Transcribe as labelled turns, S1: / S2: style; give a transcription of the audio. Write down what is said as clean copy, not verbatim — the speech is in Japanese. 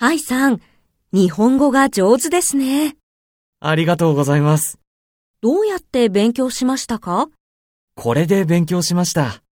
S1: 愛さん、日本語が上手ですね。
S2: ありがとうございます。
S1: どうやって勉強しましたか？
S2: これで勉強しました。